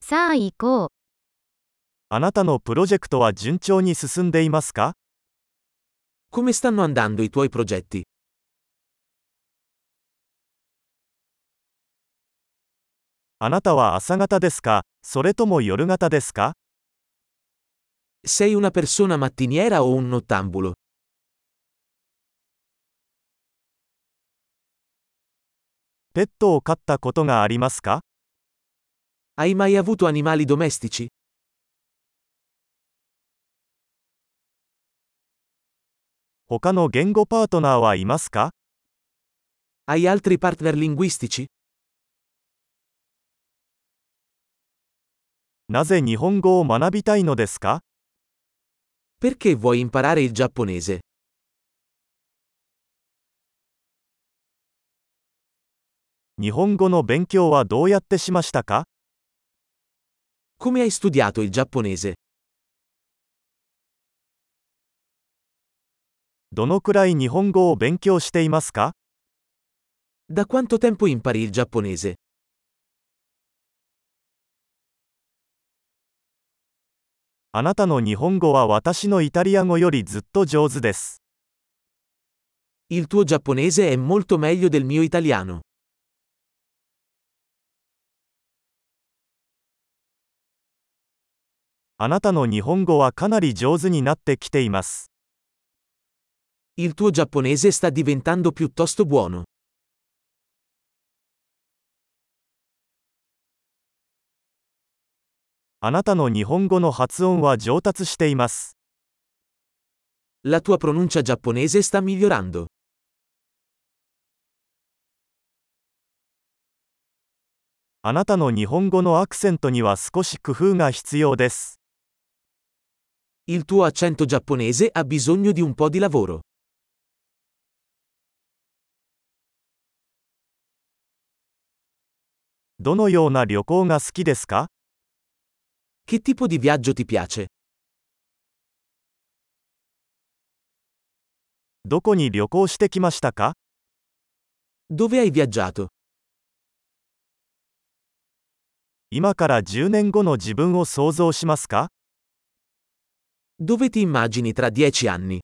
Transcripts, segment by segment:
さあ行こう。 あなたのプロジェクトは順調に進んでいますか？ Come stanno andando i tuoi progetti? あなたは朝型ですか、それとも夜型ですか？ Sei una persona mattiniera o un nottambulo? ペットを飼ったことがありますか？ Hai mai avuto animali domestici? 他の言語パートナーはいますか？ Hai altri partner linguistici? なぜ日本語を学びたいのですか？ Perché vuoi imparare il giapponese? 日本語の勉強はどうやってしましたか？ Come hai studiato il giapponese? どのくらい日本語を勉強していますか？ Da quanto tempo impari il giapponese? あなたの日本語は私のイタリア語よりずっと上手です。 Il tuo giapponese è molto meglio del mio italiano. あなたの日本語はかなり上手になってきています。 Il tuo giapponese sta diventando piuttosto buono. あなたの日本語の発音は上達しています。 La tua pronuncia giapponese sta migliorando. あなたの日本語のアクセントには少し工夫が必要です。 Il tuo accento giapponese ha bisogno di un po' di lavoro. どのような旅行が好きですか？ Che tipo di viaggio ti piace? どこに旅行してきましたか？ Dove hai viaggiato? 今から10年後の自分を想像しますか？ Dove ti immagini tra 10 anni?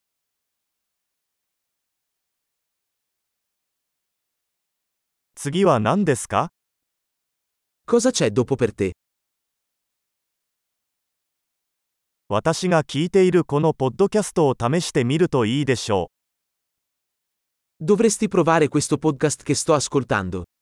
次は何ですか？ Cosa c'è dopo per te? 私が聞いているこのポッドキャストを試してみるといいでしょう。 Dovresti provare questo podcast che sto ascoltando.